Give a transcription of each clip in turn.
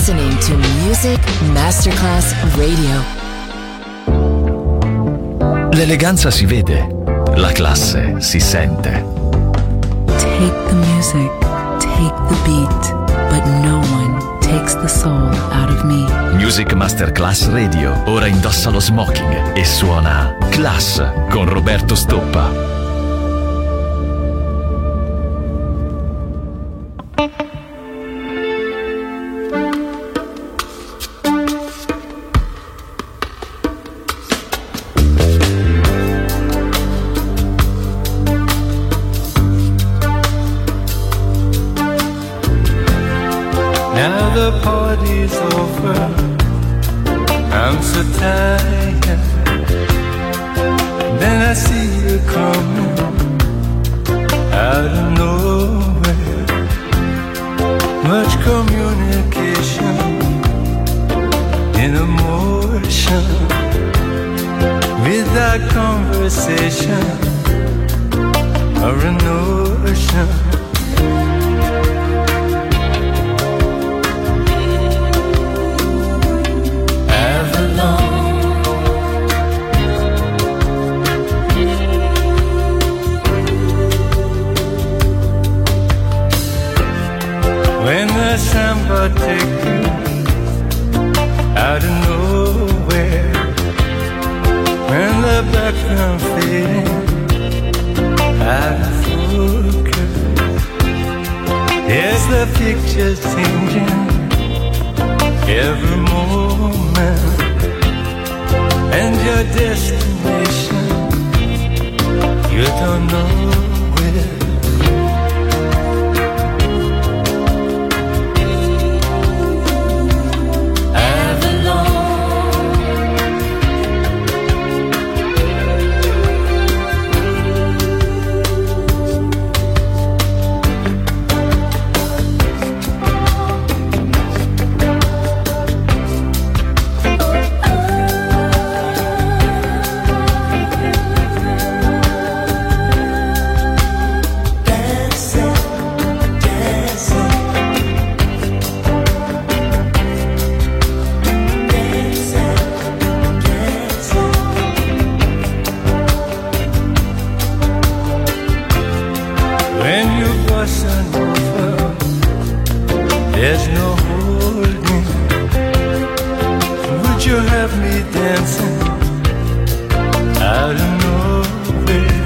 listening to Music Masterclass Radio. L'eleganza si vede, la classe si sente. Take the music, take the beat, but no one takes the soul out of me. Music Masterclass Radio ora indossa lo smoking e suona Class con Roberto Stoppa. Now the party's over, I'm so tired. Then I see you coming out of nowhere. Much communication in emotion, without conversation or a notion. When the samba take you out of nowhere, when the background fading out of focus, yes, the picture's changing every moment, and your destination, you don't know where. There's no holding. Would you have me dancing out of nowhere?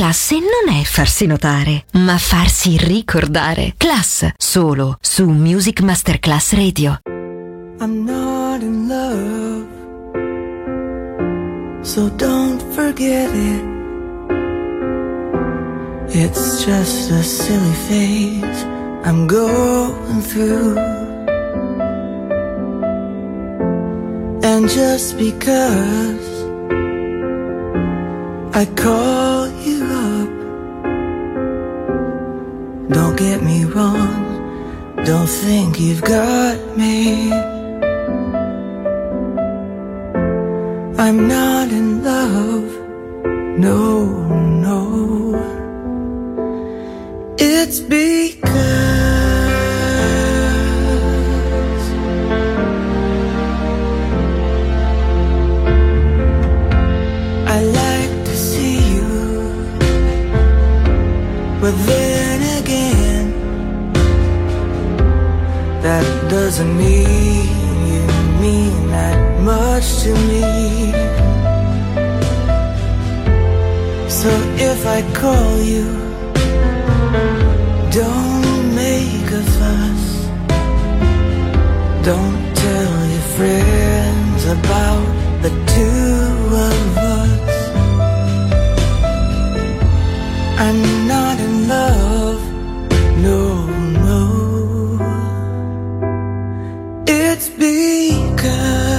Classe non è farsi notare, ma farsi ricordare. Class, solo su Music Masterclass Radio. I'm not in love, so don't forget it. It's just a silly phase I'm going through. And just because I call you up, don't get me wrong, don't think you've got me. I'm not in love, no, no. It's because I like to see you, but then again, that doesn't mean you mean that much to me. So if I call you, don't make a fuss, don't tell your friends about the two of us. I'm not in love, no, no. It's because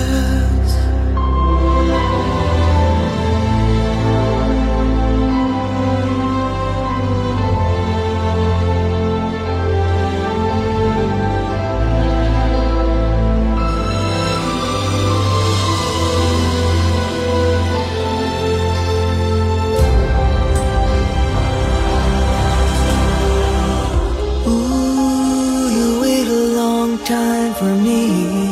time for me.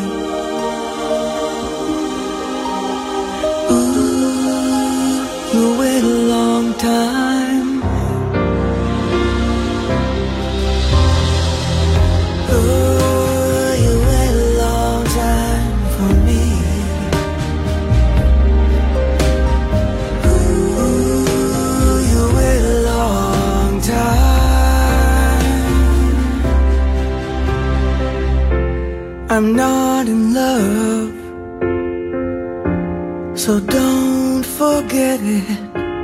Ooh, you wait a long time. Ooh, you wait a long time for me. Ooh, you wait a long time. I'm not in love, so don't forget it.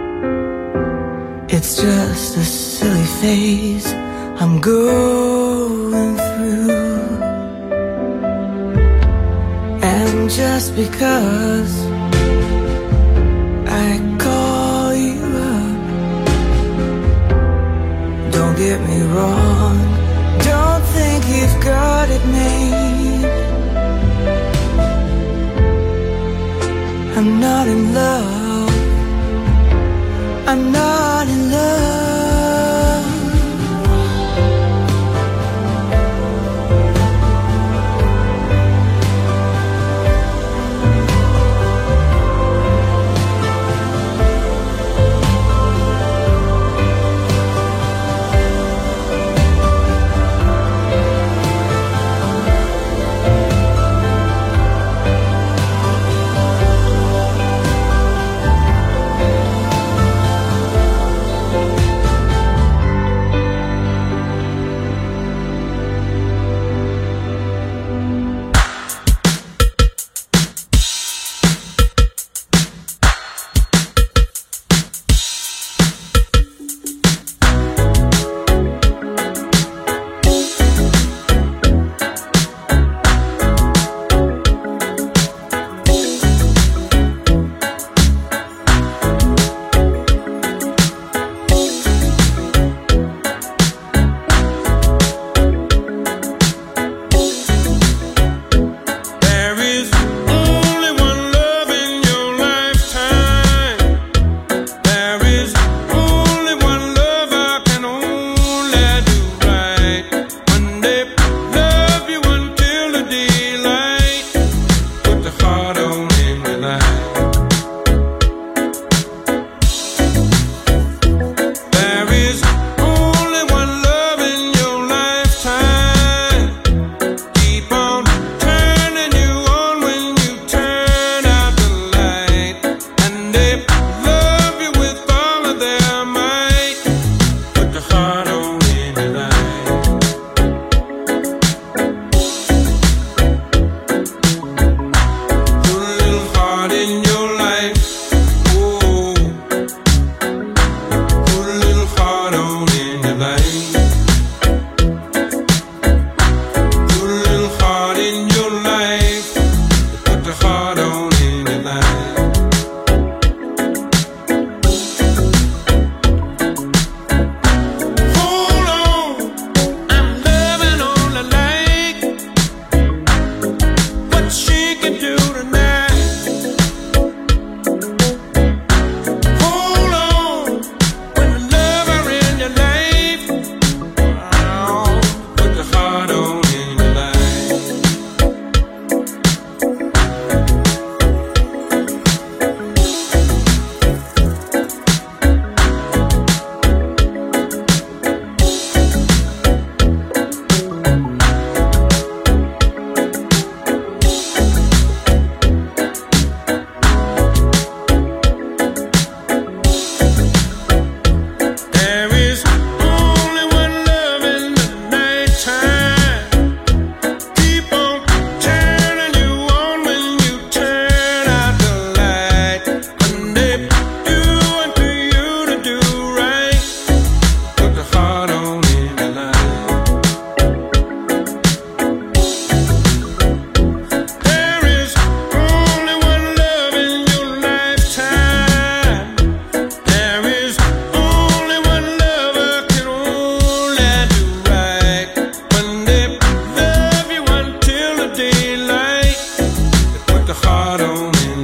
It's just a silly phase I'm going through. And just because I call you up, don't get me wrong, don't think you've got it made. I'm not in love, I'm not in love.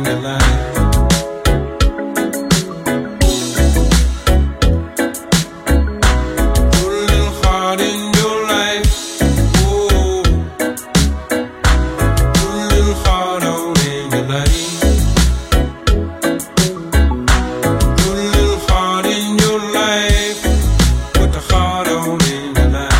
your life. Put a little heart in your life. Oh, put a little heart on in your life. Put a little heart in your life. Put the heart on in your life.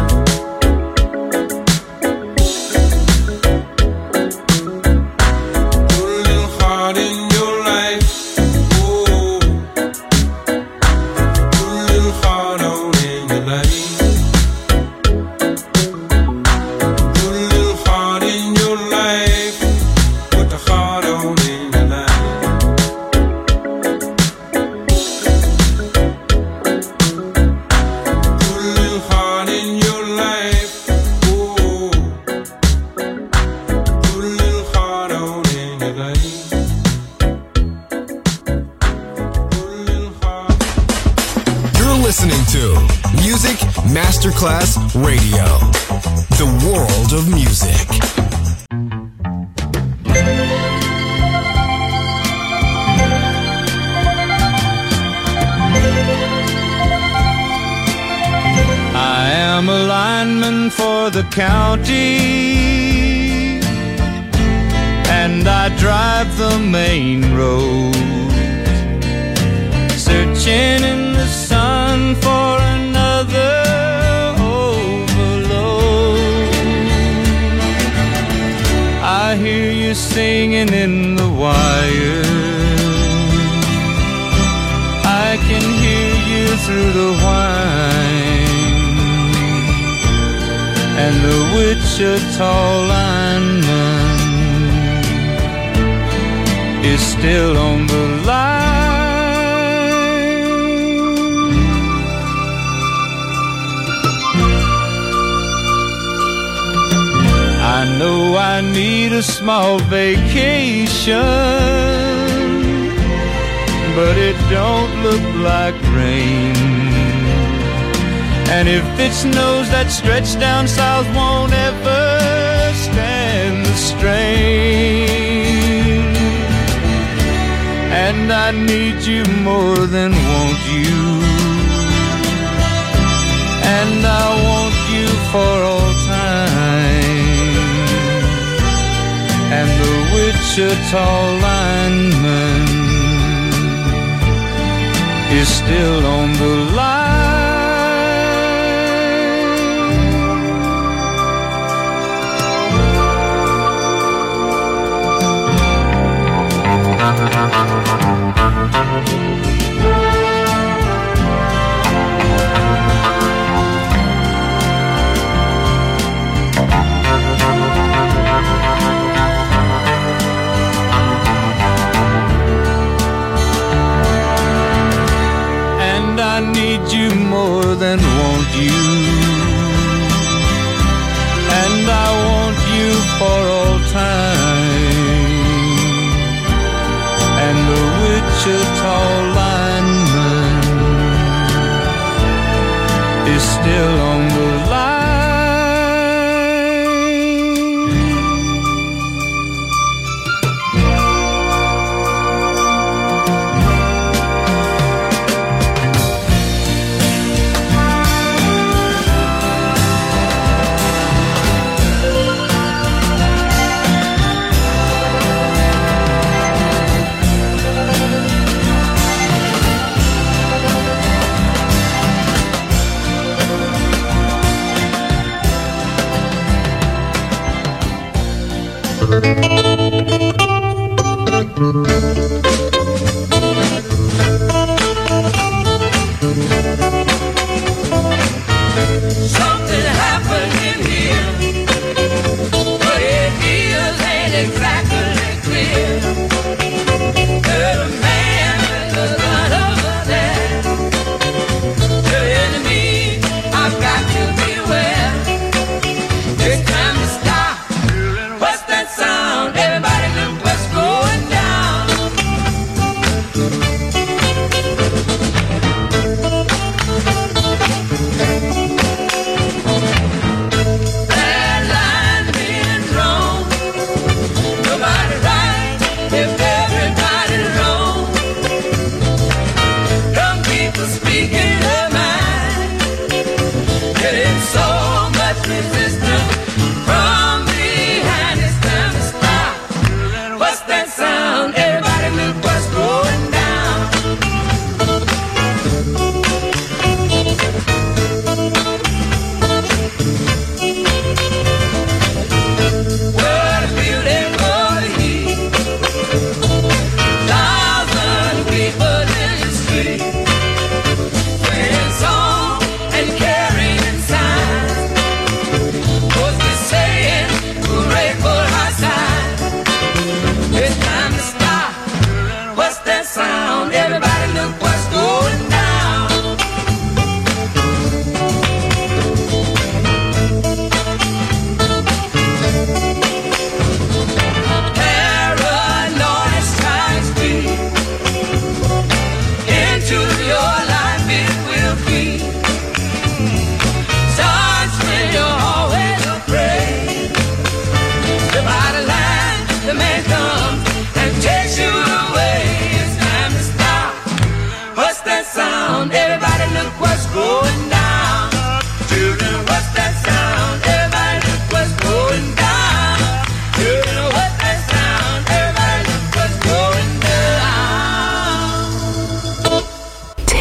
Masterclass Radio, the world of music. I am a lineman for the county, and I drive the main road, searching in the sun for another I hear you singing in the wire. I can hear you through the whine, and the Wichita lineman is still on the line. I know I need a small vacation, but it don't look like rain. And if it snows, that stretch down south won't ever stand the strain. And I need you more than want you, and I want you for all time. And the Wichita lineman is still on the line. I need you more than want you, and I want you for all time. And the Wichita lineman is still on the line. Something happened in here, but it ain't exactly clear. There's a man with a gun over there, telling me I've got to beware. It's time to stop. What's that sound? Everybody look what's going down.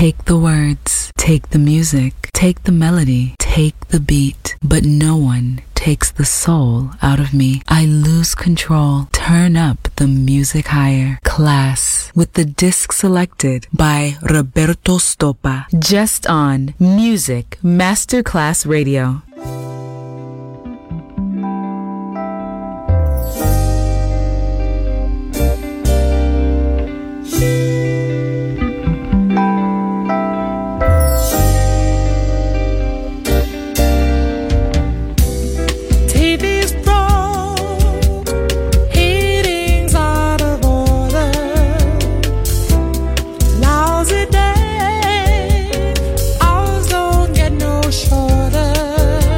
Take the words, take the music, take the melody, take the beat, but no one takes the soul out of me. I lose control. Turn up the music higher. Class with the disc selected by Roberto Stoppa. Just on Music Masterclass Radio. Lousy day, hours don't get no shorter.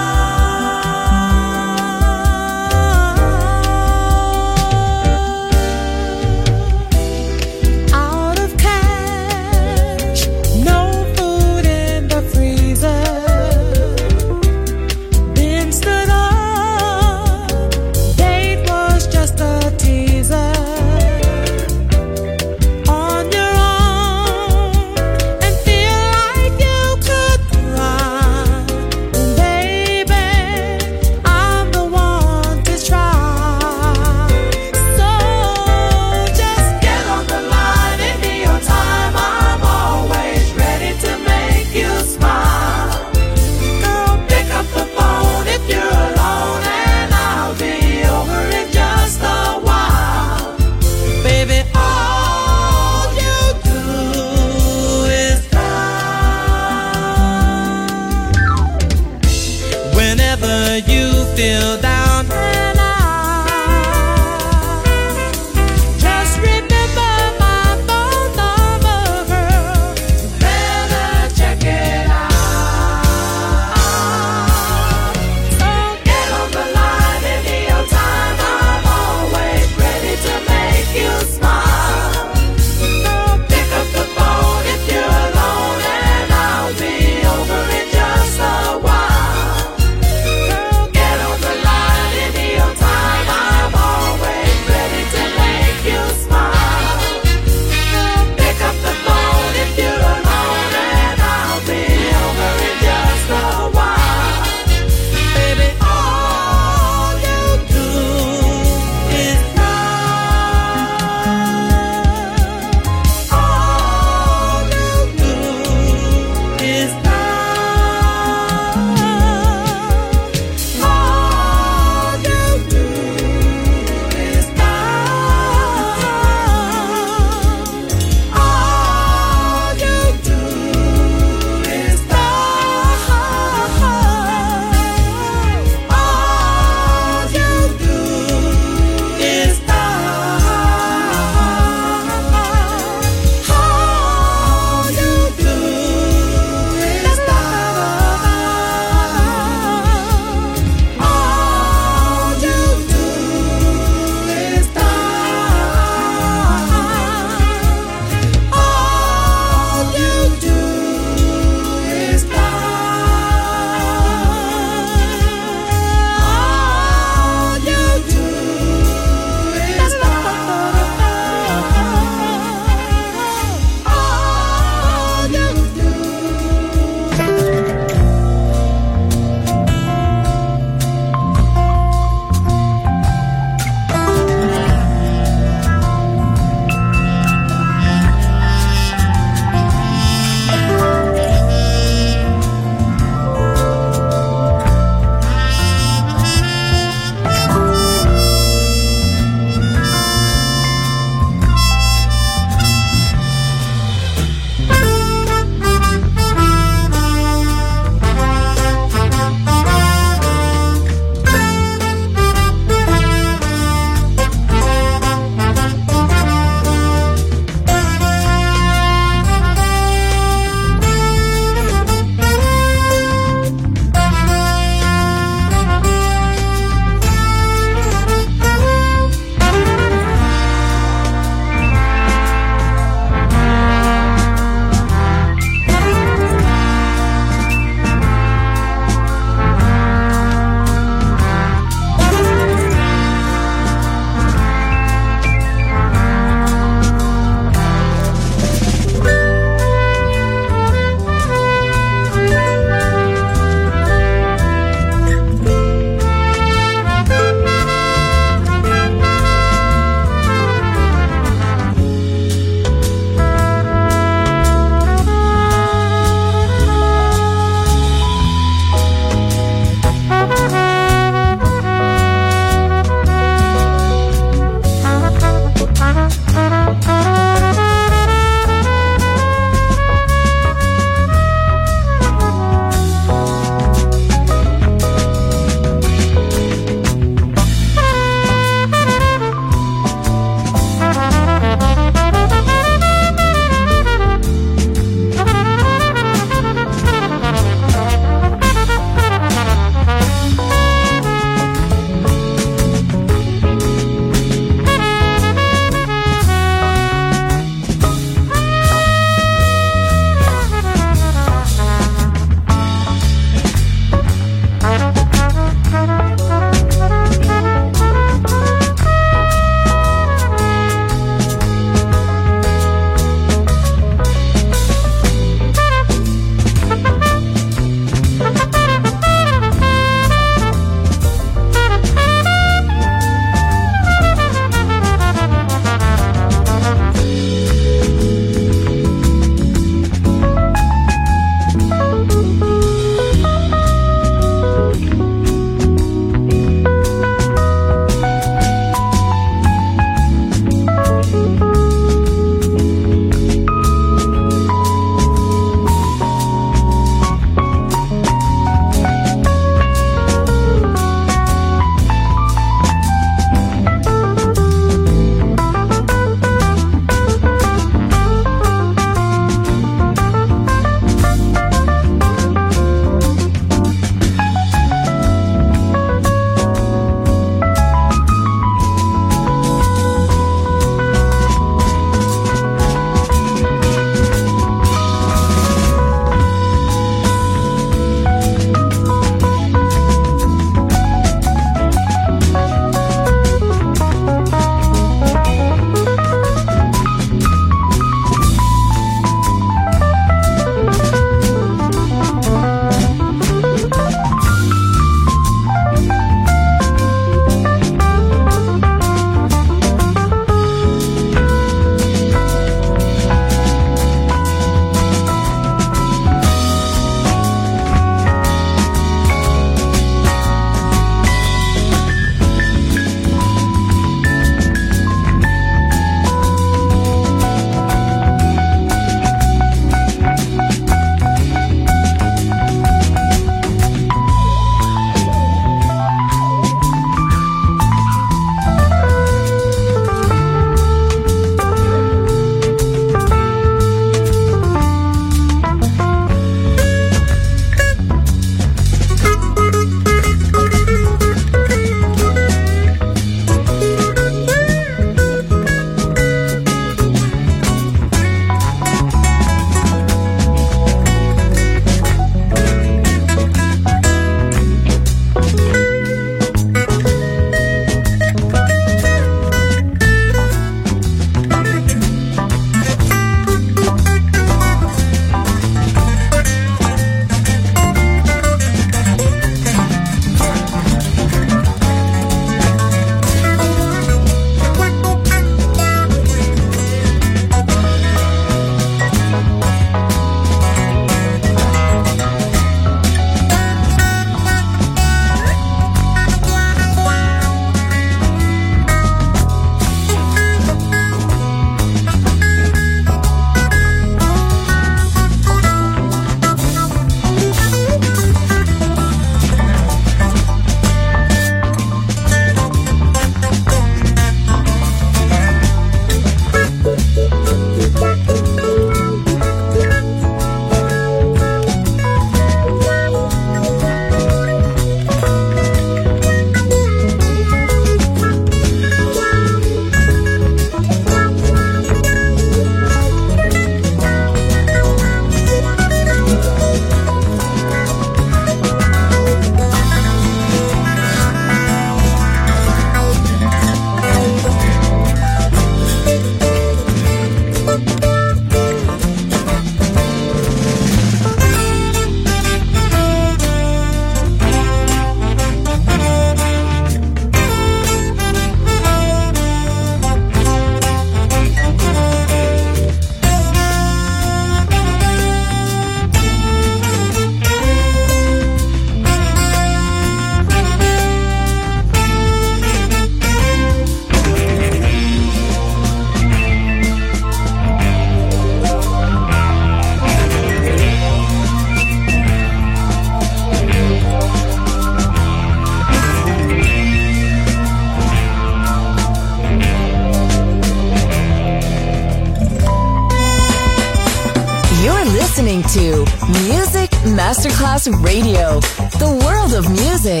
to Music Masterclass Radio, the world of music.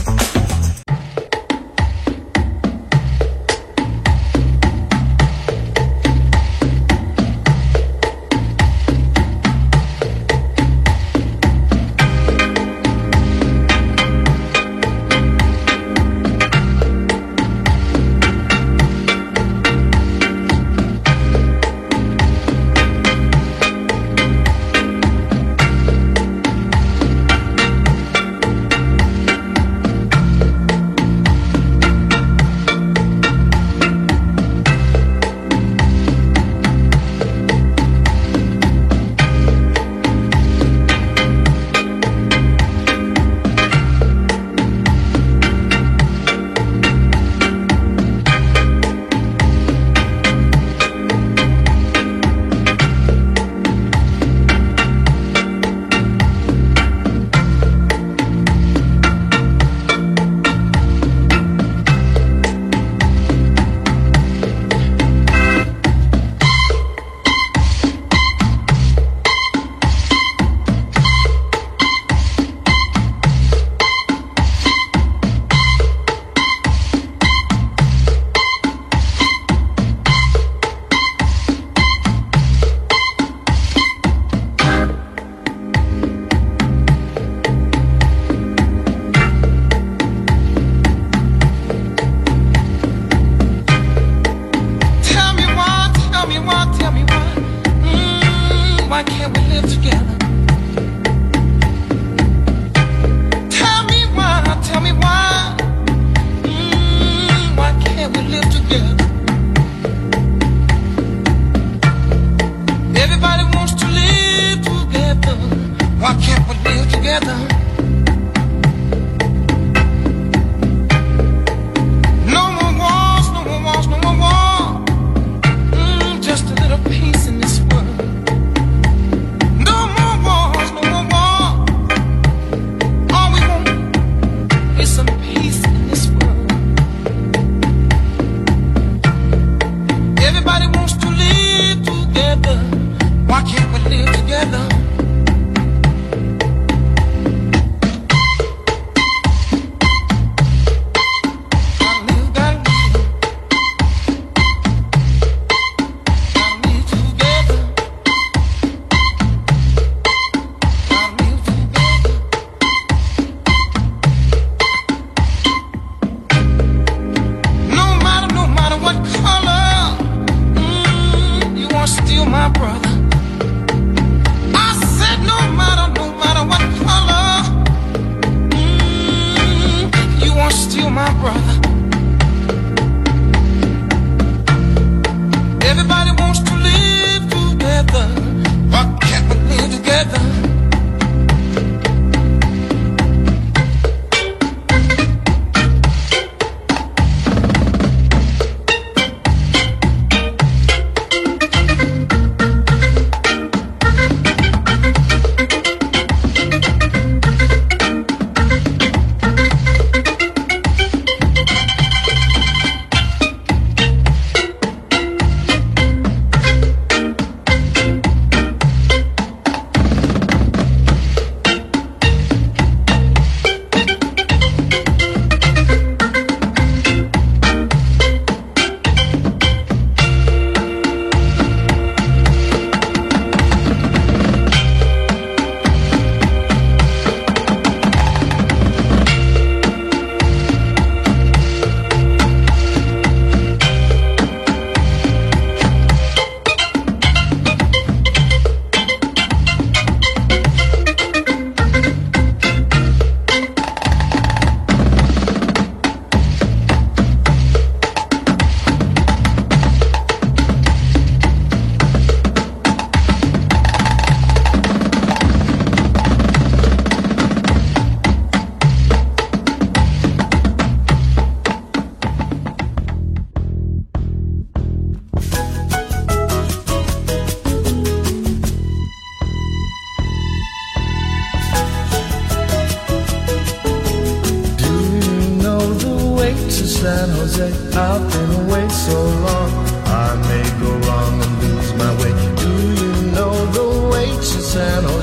San Jose, I've been away so long, I may go wrong and lose my way. Do you know the way to San Jose?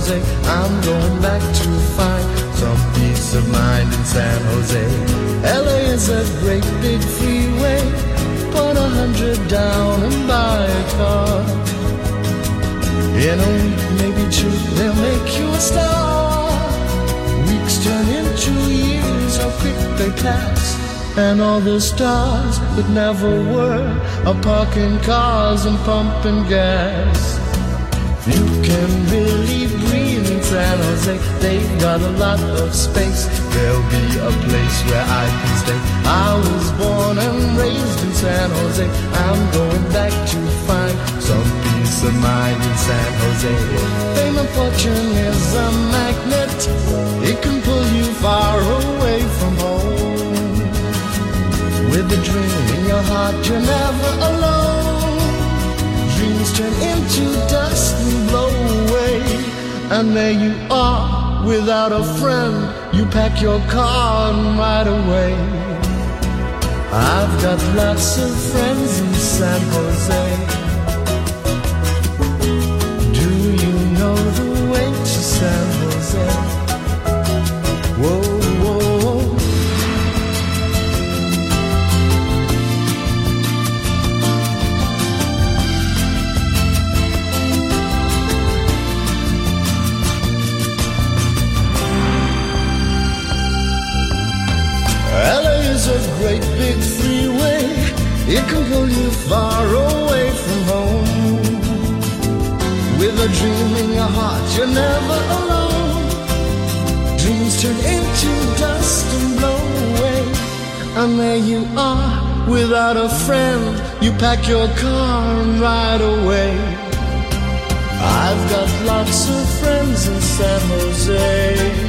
great big freeway, put 100 down and buy a car. In a week, maybe two, they'll make you a star. Weeks turn into years, how quick they pass. And all the stars that never were are parking cars and pumping gas. You can really breathe in San Jose. They've got a lot of space. There'll be a place where I can stay. I was born and raised in San Jose. I'm going back to find some peace of mind in San Jose. Fame and fortune is a magnet. It can pull you far away from home. With a dream in your heart, you're never alone. Dreams turn into dust and blow away. And there you are, without a friend. You pack your car and ride away. I've got lots of friends in San Jose. Do you know the way to San Jose? Whoa, whoa, whoa. LA is a great big freeway. It can pull you far away from home. With a dream in your heart, you're never alone. Dreams turn into dust and blow away. And there you are, without a friend. You pack your car and ride away. I've got lots of friends in San Jose.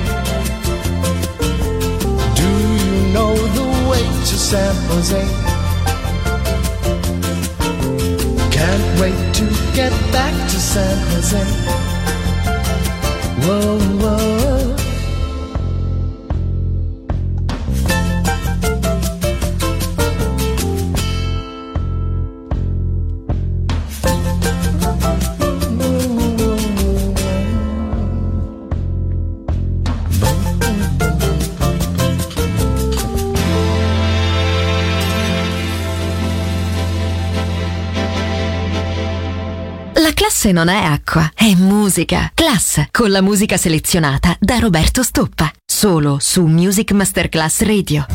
Know the way to San Jose. Can't wait to get back to San Jose. Whoa, whoa. Classe non è acqua, è musica. Class, con la musica selezionata da Roberto Stoppa. Solo su Music Masterclass Radio.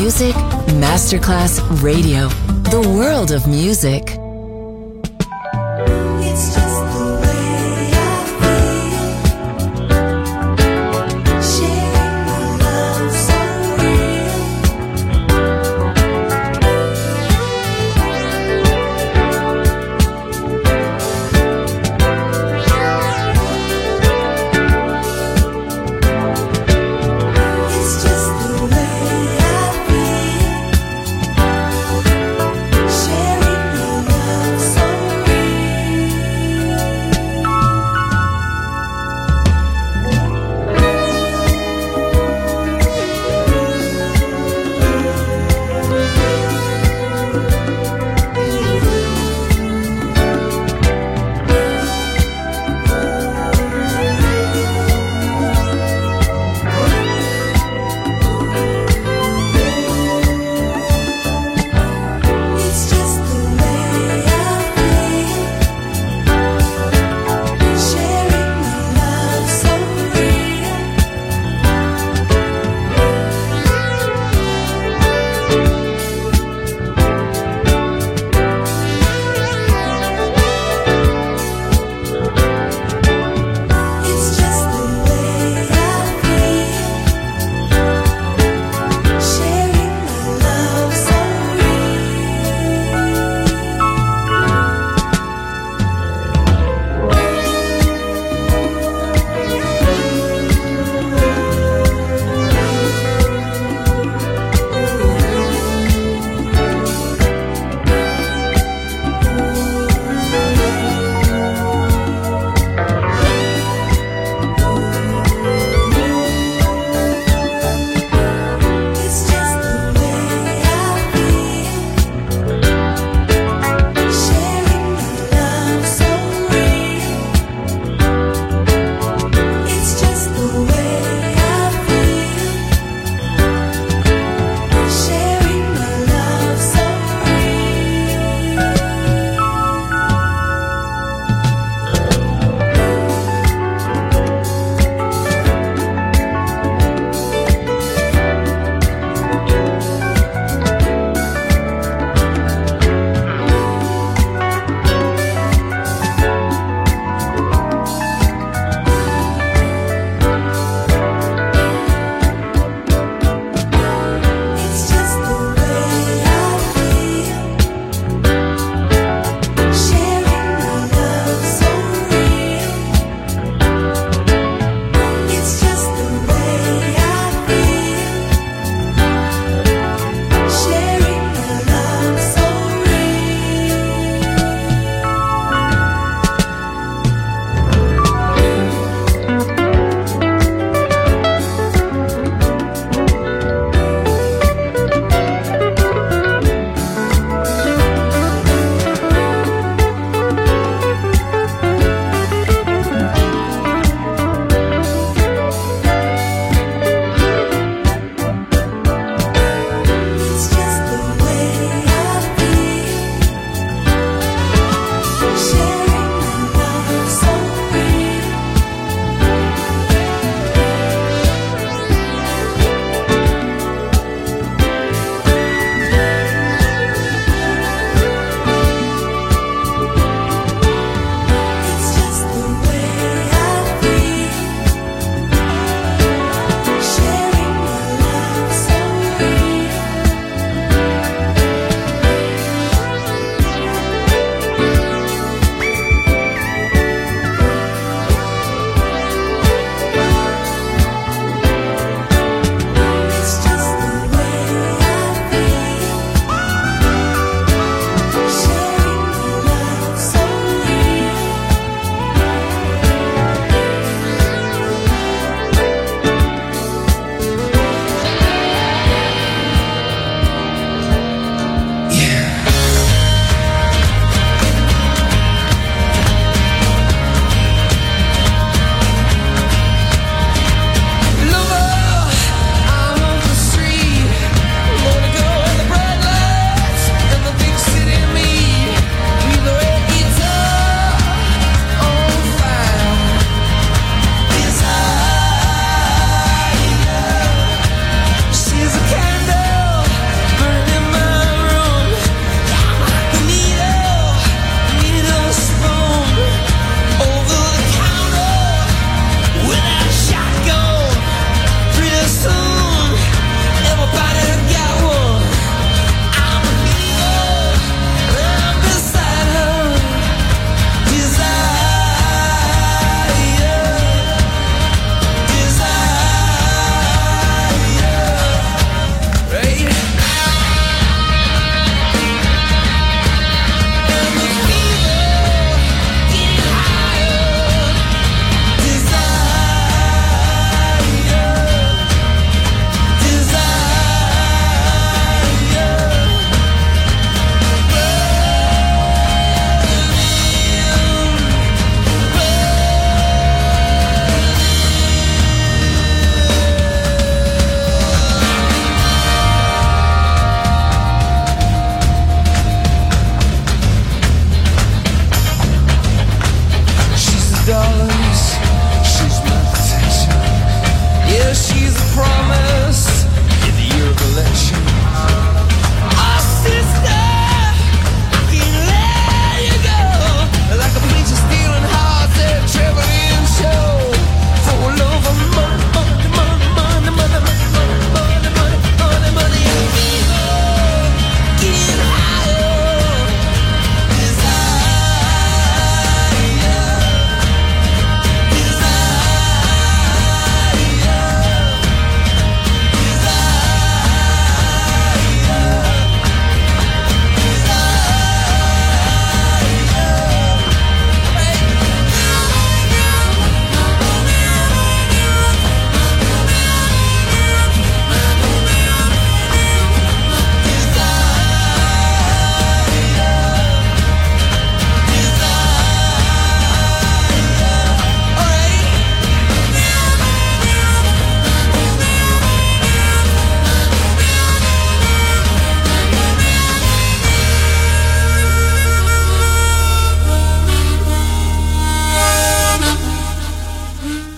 music? Masterclass Radio. The world of music. It's just the way I feel. Sharing my love so real. It's just the way I feel. Sharing my love.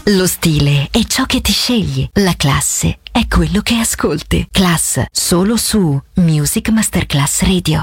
Lo stile è ciò che ti scegli. La classe è quello che ascolti. Class, solo su Music Masterclass Radio.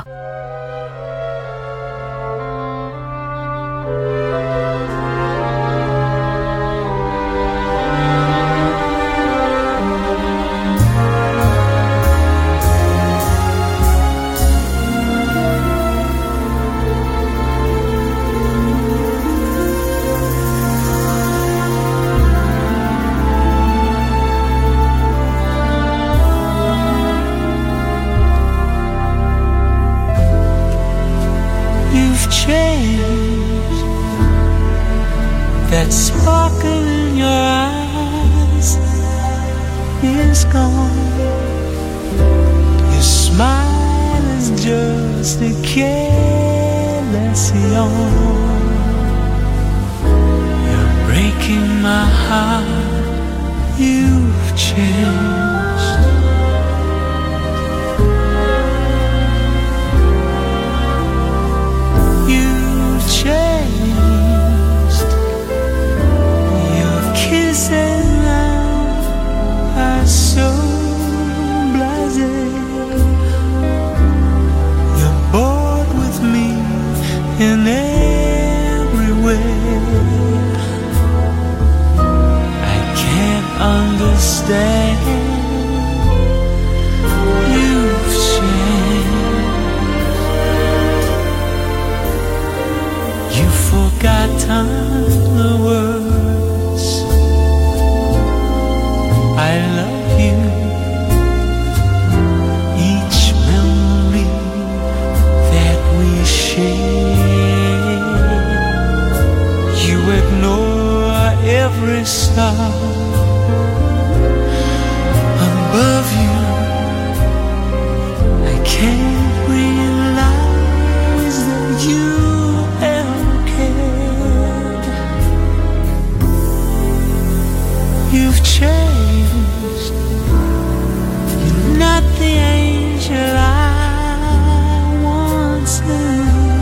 Changed. That sparkle in your eyes is gone. Your smile is just a careless yawn. You're breaking my heart. You've changed. Changed. Your kisses now are so blasé. You're bored with me in every way. I can't understand. You've changed. You've forgotten the words I love you. Each memory that we share. You ignore every star above you. I can't realize that you you've changed. You're not the angel I once knew.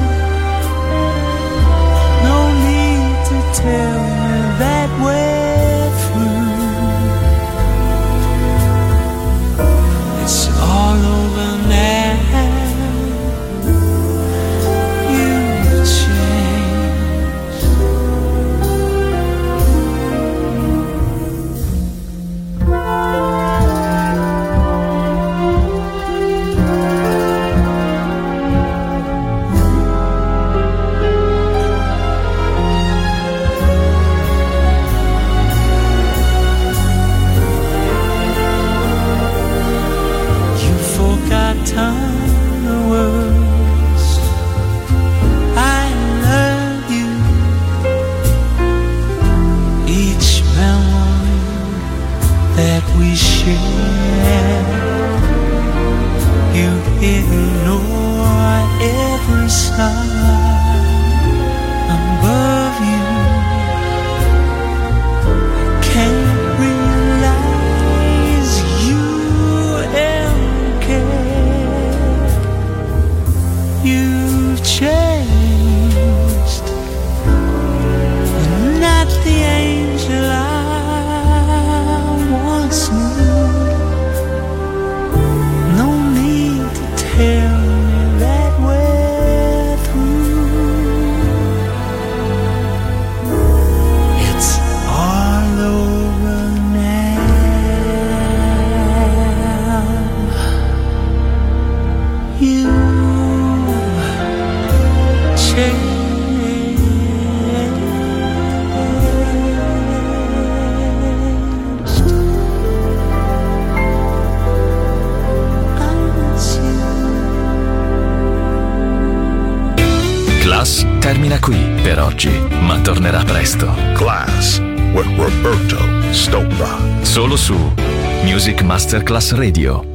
No need to tell me that we're through. It's all over now. You've changed. The words I love you. Each memory that we share. You ignore every sign above you. I can't realize you ever cared. You've changed. You're not the angel I once knew. No need to tell me that we're through. It's all over now. You changed. Class termina qui per oggi, ma tornerà presto. Class with Roberto Stoppa. Solo su Music Masterclass Radio.